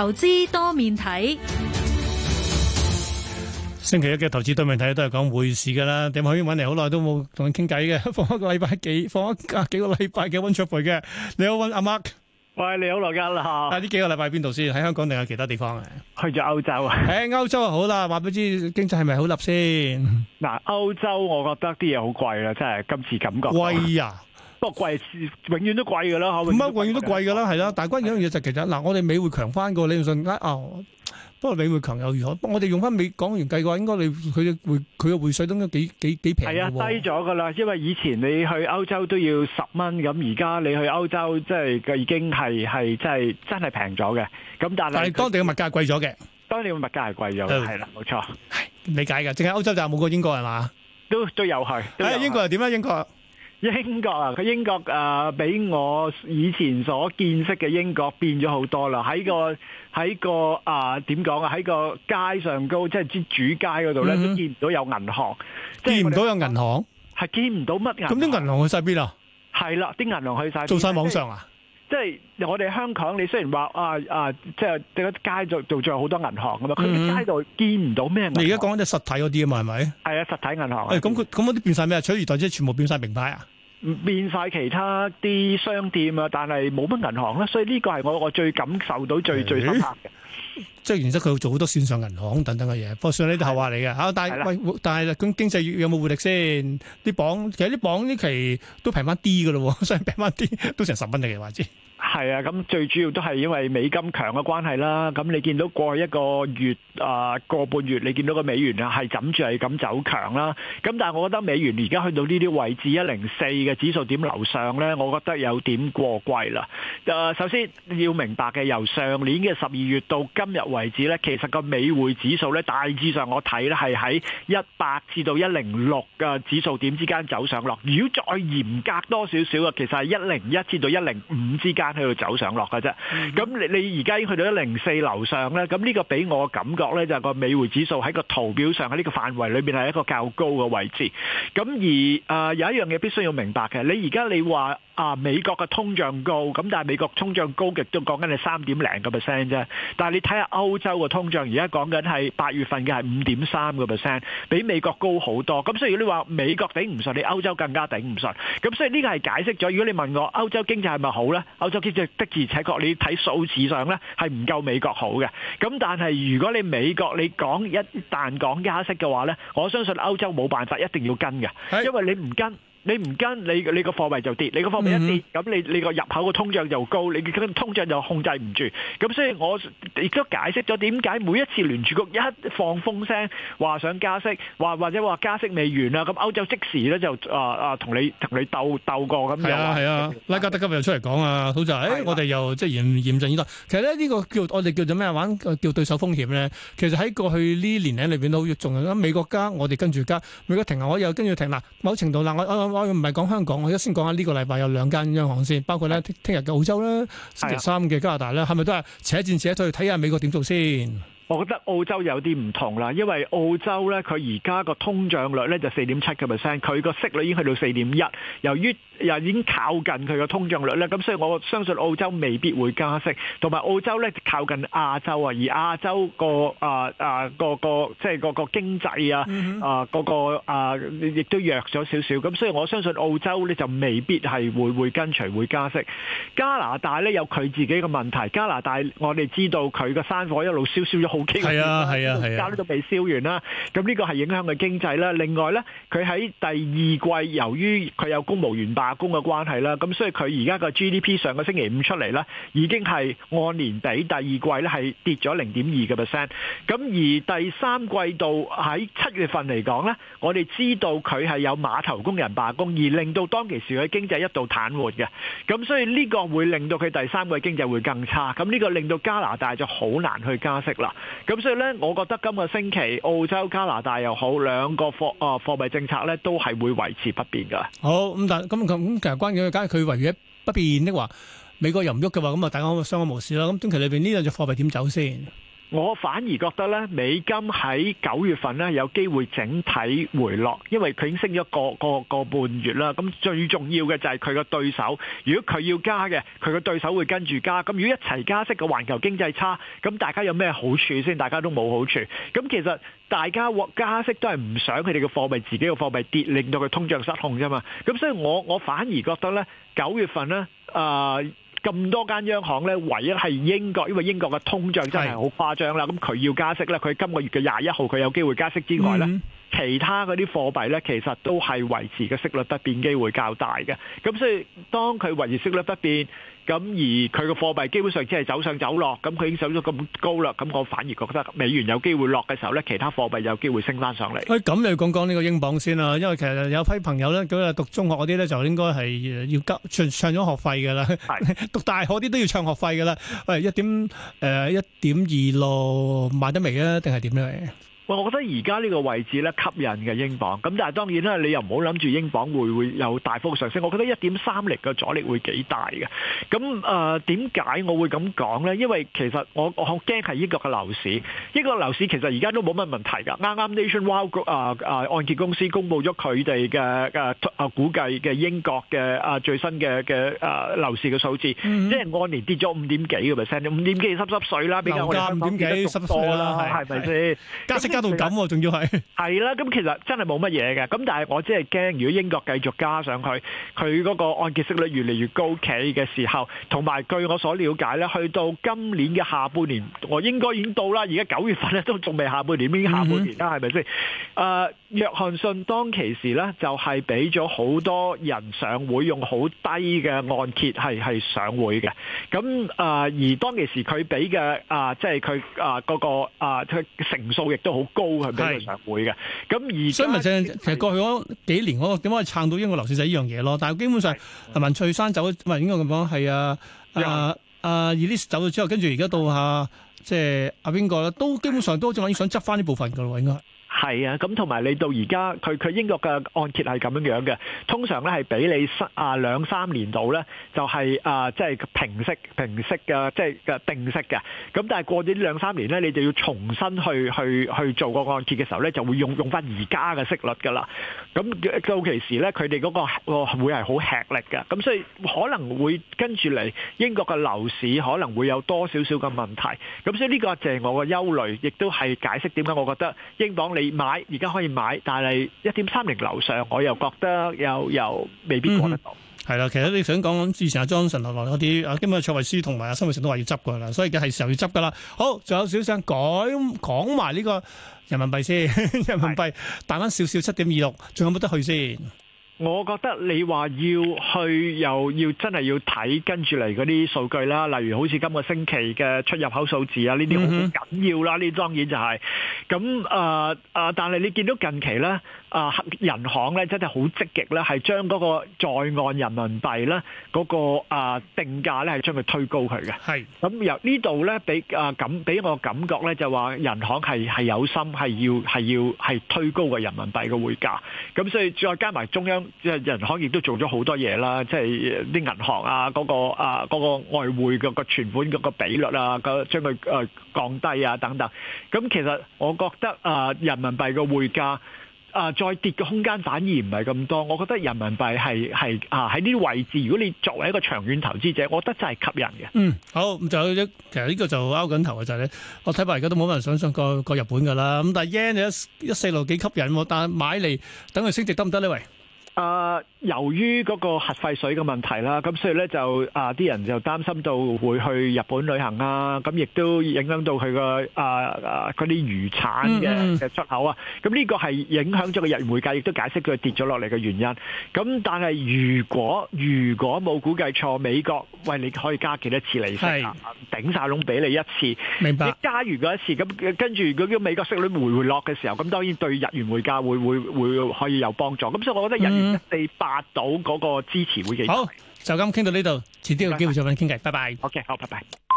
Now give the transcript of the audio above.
投資多面睇。 星期一嘅投資多面睇都係講匯市噶啦，點可以揾嚟好耐都冇同佢傾偈嘅？放一個禮拜放一幾個禮拜嘅溫灼培嘅，你好溫阿 Mark。 喂，你好羅家啦。 呢幾個禮拜邊度先？喺香港定係其他地方啊？ 去咗歐洲啊？ 喺歐洲啊，好啦，話俾你知經濟係咪好立先？ 嗱，歐洲我覺得啲嘢好貴啦，真係今次感覺貴啊！ 不過貴永遠都貴噶啦， 唔係永遠都貴噶啦，係啦。但係關鍵一樣嘢就其實嗱，我哋美匯強翻個，你信不過美匯強又如何？我哋用翻港元計嘅話，應該佢嘅匯稅都應該幾平嘅喎。 係啊，低咗噶啦，因為以前你去歐洲都要10蚊，咁而家你去歐洲即係已經係真係平咗嘅。咁但係當地嘅物價貴咗嘅。 當地嘅物價係貴咗嘅，係啦，冇錯。 理解嘅，淨係歐洲就冇過英國係嘛？ 都有去。 英國又點啊？英國啊，佢英國比我以前所見識嘅英國變咗好多啦。喺個點講啊？喺個街上高，即係主街嗰度咧，都見唔到有銀行， 見唔到有銀行， 係見唔到乜銀行。 咁啲銀行去晒邊啊？ 係啦，啲銀行去晒做晒網上啊？ 即係我哋香港，你雖然話即係街度仲有好多銀行㗎嘛，佢街度見唔到咩銀行。 你而家講緊啲實體嗰啲啊嘛，係咪？ 係啊，實體銀行。 咁嗰啲變晒咩啊？取而代之全部變晒名牌啊？ 變晒其他啲商店啊，但係冇乜銀行啦，所以呢個係我最感受到最深刻嘅。 即係原則佢做好多線上銀行等等嘅嘢，不過算呢啲後話嚟嘅嚇。但係咁經濟有冇活力先？啲鎊其實啲鎊呢期都平翻啲嘅咯，所以平翻啲都成10蚊嘅話知。 係啊，咁最主要都係因為美金強嘅關係啦。咁你見到過去一個月個半月，你見到個美元啊係枕住係咁走強啦。咁但係我覺得美元而家去到呢啲位置104嘅指數點樓上咧，我覺得有點過貴啦。首先要明白嘅，由上年嘅12月到今日為止咧，其實個美匯指數咧大致上我睇咧係喺100至到106嘅指數點之間走上落。如果再嚴格多少少嘅，其實係101至到105之間喺度走上落嘅啫。咁你而家已經去到104樓上咧，咁呢個俾我感覺咧就係個美匯指數喺個圖表上喺呢個範圍裏邊係一個較高嘅位置。咁而有一樣嘢必須要明白嘅，你而家你話美國嘅通脹高，咁但係美國通脹高極都講緊係3點零個 percent 啫。但係你睇下歐洲嘅通脹，而家講緊係8月份嘅係5.3個 percent，比美國高好多。咁所以如果你話美國頂唔順，你歐洲更加頂唔順。咁所以呢個係解釋咗，如果你問我歐洲經濟係咪好咧？歐洲經濟的而且確，你睇數字上咧係唔夠美國好嘅。咁但係如果你美國你一旦講加息嘅話咧，我相信歐洲冇辦法一定要跟嘅，因為你唔跟。你個貨幣就跌，你個貨幣一跌，咁你個入口個通脹就高，你個通脹就控制唔住。咁所以我亦都解釋咗點解每一次聯儲局一放風聲話想加息，或者話加息未完啊，咁歐洲即時咧就同你鬥過咁樣。 係啊，拉加德今日又出嚟講啊，好就我哋又即係嚴陣以待。其實咧呢個我哋叫做咩玩叫對手風險咧。其實喺過去呢年裡裏邊都仲有美國加，我哋跟住加，美國停我又跟住停嗱。某程度我唔係講香港，我而家先講下呢個禮拜有2間央行先，包括咧聽日嘅澳洲啦，星期3嘅加拿大啦，係咪都係且戰且退，睇下美國點做先？ 我覺得澳洲有啲唔同啦，因為澳洲咧佢而家個通脹率咧就4.7個 percent，佢個息率已經去到4.1，由於又已經靠近佢個通脹率咧，咁所以我相信澳洲未必會加息，同埋澳洲咧靠近亞洲啊，而亞洲個即係個經濟啊亦都弱咗少少，咁所以我相信澳洲咧就未必係會跟隨會加息。加拿大咧有佢自己嘅問題，加拿大我哋知道佢個山火一路燒咗好幾個月，而家都未燒完啦。咁呢個係影響佢經濟啦。另外咧，佢喺第二季由於佢有公務員罷工嘅關係啦，咁所以佢而家個 GDP 上個星期五出嚟咧，已經係按年比第二季咧係跌咗0.2個 percent。咁而第三季度喺7月份嚟講咧，我哋知道佢係有碼頭工人罷工，而令到當其時佢經濟一度癱瘓嘅。咁所以呢個會令到佢第三季經濟會更差。咁呢個令到加拿大就好難去加息啦。咁所以咧，我覺得今個星期澳洲、加拿大又好，兩個貨幣政策咧都係會維持不變噶。 好咁，但咁其實關鍵嘅，假如佢維持不變的話，美國又唔喐嘅話，咁啊大家相安無事啦。咁短期裏邊呢兩隻貨幣點走先？ 我反而覺得咧，美金喺9月份咧有機會整體回落，因為佢已經升咗個半月啦。咁最重要嘅就係佢個對手，如果佢要加嘅，佢個對手會跟住加。咁如果一齊加息嘅環球經濟差，咁大家有咩好處先？大家都冇好處。咁其實大家加息都係唔想佢哋嘅貨幣自己嘅貨幣跌，令到佢通脹失控啫嘛。咁所以我反而覺得咧，9月份咧咁多間央行咧，唯一係英國，因為英國嘅通脹真係好誇張啦。咁佢要加息咧，佢今個月嘅21號佢有機會加息之外咧，其他嗰啲貨幣咧，其實都係維持嘅息率不變機會較大嘅。咁所以當佢維持息率不變，咁而佢個貨幣基本上只係走上走落，咁佢已經上咗咁高啦。咁我反而覺得美元有機會落嘅時候咧，其他貨幣有機會升翻上嚟。 咁你講講呢個英鎊先啦，因為其實有批朋友咧，佢話讀中學嗰啲咧就應該係要唱咗學費㗎啦，讀大學啲都要唱學費㗎啦。喂，1.26買得未啊？定係點咧？ 我覺得而家呢個位置咧吸引嘅英鎊，咁但係當然啦，你又唔好諗住英鎊會有大幅上升。我覺得1.30嘅阻力會幾大嘅。咁點解我會咁講呢？因為其實我好驚係英國嘅樓市。英國樓市其實而家都冇乜問題㗎。啱啱 Nationwide 按揭公司公佈咗佢哋嘅估計嘅英國嘅最新嘅樓市嘅數字，即係按年跌咗5.幾個 percent，5點幾濕水啦，比較我哋香港跌得仲多啦，係咪先？ 加息加到咁，仲要係啦，咁其實真係冇乜嘢嘅，咁但係我只係驚，如果英國繼續加上去，佢嗰個按揭息率越嚟越高企嘅時候，同埋據我所了解咧，去到今年嘅下半年，我應該已經到啦，而家9月份咧都仲未下半年，已經下半年啦，係咪先？約翰遜當其時咧就係俾咗好多人上會用好低嘅按揭係上會嘅，咁而當其時佢俾嘅即係佢嗰個佢成數亦都好高，係俾佢上會嘅。咁而所以咪正其實過去嗰幾年嗰個點解可以撐到英國樓市就係呢樣嘢咯。但係基本上文翠珊走，唔係應該咁講係Elise 走咗之後，跟住而家到即係邊個咧，都基本上都正話已經想執翻呢部分噶咯，應該。 係啊，咁同埋你到而家佢英國嘅按揭係咁樣嘅，通常咧係俾你2-3年度咧就係即係平息嘅，即係嘅定息嘅。咁但係過咗呢2-3年咧，你就要重新去做個按揭嘅時候咧，就會用翻而家嘅息率㗎啦。咁到其時咧，佢哋嗰個會係好吃力嘅。咁所以可能會跟住嚟英國嘅樓市可能會有多少少嘅問題。咁所以呢個就係我嘅憂慮，亦都係解釋點解我覺得英鎊你買而家可以買，但係1.30樓上，我又覺得又未必過得到。 係啦，其實你想講之前阿 Johnson 落來嗰啲，今日卓慧思同埋阿辛偉誠都話要執噶啦，所以而家係時候要執噶啦。好，仲有少少想講埋呢個人民幣先，人民幣彈翻少少7.26，仲有冇得去先？ 我覺得你話要去又要真係要睇跟住嚟嗰啲數據啦，例如好似今個星期嘅出入口數字啊，呢啲好緊要啦。呢當然就係咁但係你見到近期咧人行咧真係好積極咧，係將嗰個在岸人民幣咧嗰個定價咧係將佢推高佢嘅。係咁由呢度咧俾我感覺咧就話人行係有心係推高個人民幣嘅匯價。咁所以再加埋中央。即係人行亦都做咗好多嘢啦，即係啲銀行嗰個外匯個存款嗰個比率將佢降低等等。咁其實我覺得人民幣嘅匯價再跌嘅空間反而唔係咁多。我覺得人民幣係喺呢啲位置，如果你作為一個長遠投資者，我覺得真係吸引嘅。好，咁就其實呢個就拗緊頭嘅就係咧，我睇法而家都冇乜人想上過日本㗎啦。咁但係 yen 1.46幾吸引喎，但係買嚟等佢升值得唔得呢？喂？由於嗰個核廢水嘅問題啦，咁所以咧就啲人就擔心到會去日本旅行啊，咁亦都影響到佢個嗰啲漁產嘅出口啊。咁呢個係影響咗個日元匯價，亦都解釋佢跌咗落嚟嘅原因。咁但係如果冇估計錯，美國喂你可以加幾多次利息啊？頂晒籠俾你一次，明白？你加完嗰一次，咁跟住如果美國息率回落嘅時候，咁當然對日元匯價會可以有幫助。咁所以我覺得日元1.48到嗰個支持會幾大。好，就咁傾到呢度，遲啲有機會再揾你傾偈。拜拜。OK， 好，拜拜。